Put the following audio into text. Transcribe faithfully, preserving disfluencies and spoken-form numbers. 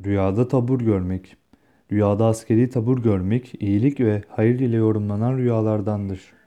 Rüyada tabur görmek. Rüyada askeri tabur görmek, iyilik ve hayır ile yorumlanan rüyalardandır.